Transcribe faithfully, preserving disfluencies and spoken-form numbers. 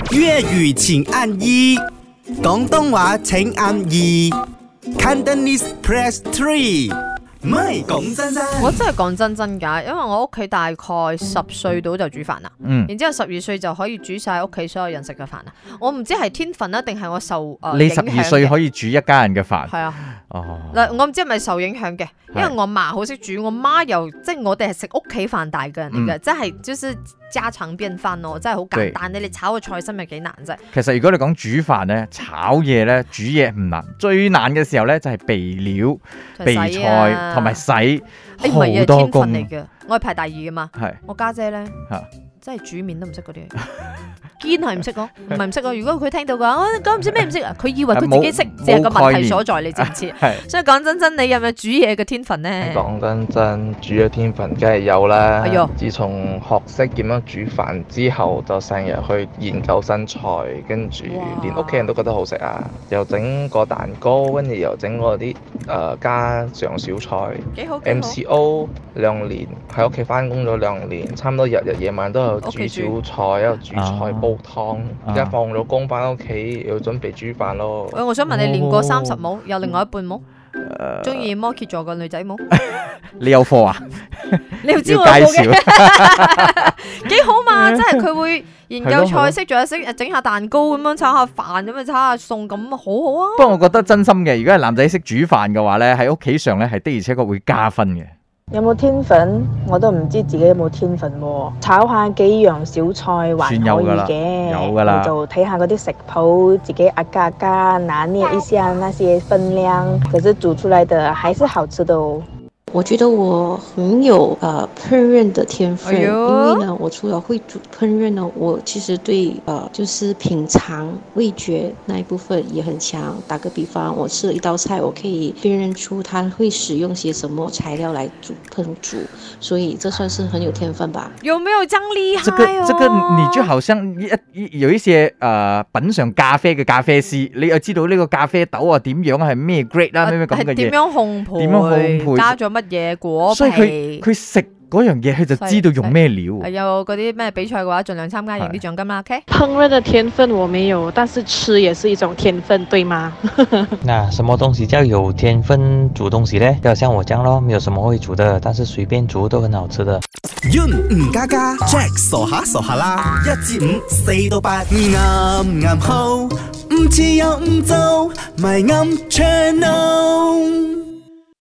粵語請按一，廣東話請按二 Cantonese press three。唔係講真真， 我真係講真真㗎，因為我屋企大概十歲到就煮飯啦，嗯、然之後十二歲就可以煮晒屋企所有人食嘅飯啦。我唔知係天分啦，定係我受誒、呃、 你十二歲可以煮一家人嘅飯？係啊，哦，嗱，我唔知係咪受影響嘅，因為我媽好識煮，我媽又即係我哋係食屋企飯大嘅人嚟嘅，嗯、即係就是家常便飯咯，真係好簡單。你哋炒個菜心有幾難啫？其實如果你講煮飯咧、炒嘢咧、煮嘢唔難，最難嘅時候咧就係備料、備菜。同埋洗好多工嚟嘅，我係排第二㗎嘛。係我家姐咧，真係煮麵都唔識嗰啲，堅係唔識講，唔係唔識講。如果佢聽到嘅話，我講唔知咩唔識啊，佢以為佢自己識，只係個問題所在，你知唔知？所以講真真，你有冇煮嘢嘅天分咧？ 講真真，煮嘅天分梗係有啦。哎呦！自從學識點樣煮飯之後，就成日去研究新菜，跟住連屋企人都覺得好食啊！又整個蛋糕，跟住又整嗰啲誒家常小菜。幾好 M C O 兩年喺屋企翻工咗兩年，差唔多日日夜晚都有煮小菜，有煮菜煲湯。而家放咗工翻屋企，要準備煮飯咯。 喂，我想問你練過三十冇？有另外一半冇？中意摩羯座嘅女仔冇？ 你有貨啊？ 你又知我有冇嘅？幾好嘛！即係佢會研究菜式，仲有識整下蛋糕咁樣，炒下飯咁樣，炒下餸咁，好好啊！ 不過我覺得真心嘅，如果係男仔識煮飯嘅話咧，喺屋企上咧係的而且確會加分嘅。 有冇天分？我都唔知自己有冇天分喎。炒下幾樣小菜還可以嘅， 有㗎啦， 就睇下嗰啲食譜，自己壓加加拿捏一下那些分量，可是煮出來的還是好吃的哦。 我覺得我很有呃烹飪的天分，哎、因為呢，我除了會煮烹飪呢，我其實對呃就是品嘗味覺那一部分也很強。打個比方，我吃了一道菜，我可以辨認出它會使用些什麼材料來煮烹煮，所以這算是很有天分吧。 有沒有這樣厲害、哦？ 這個這個你就好像一有一些呃品嘗咖啡嘅咖啡師，你又知道呢個咖啡豆啊點樣係咩 grade 啦，咩咩咁嘅嘢， 點樣烘焙， 點樣烘焙， 加咗乜嘢果皮， 所以佢佢食嗰樣嘢，佢就知道用咩料。 係有嗰啲咩比賽嘅話，盡量參加贏啲獎金啦。OK。 烹飪的天分我沒有，但是吃也是一種天分，對嗎？ 那什麼東西叫有天分煮東西呢？就像我這樣咯，沒有什麼會煮的，但是隨便煮都很好吃的。 Yun 吳家家 Jack 傻下傻下啦，一至五四到八啱啱好，唔似又唔做，咪啱 channel。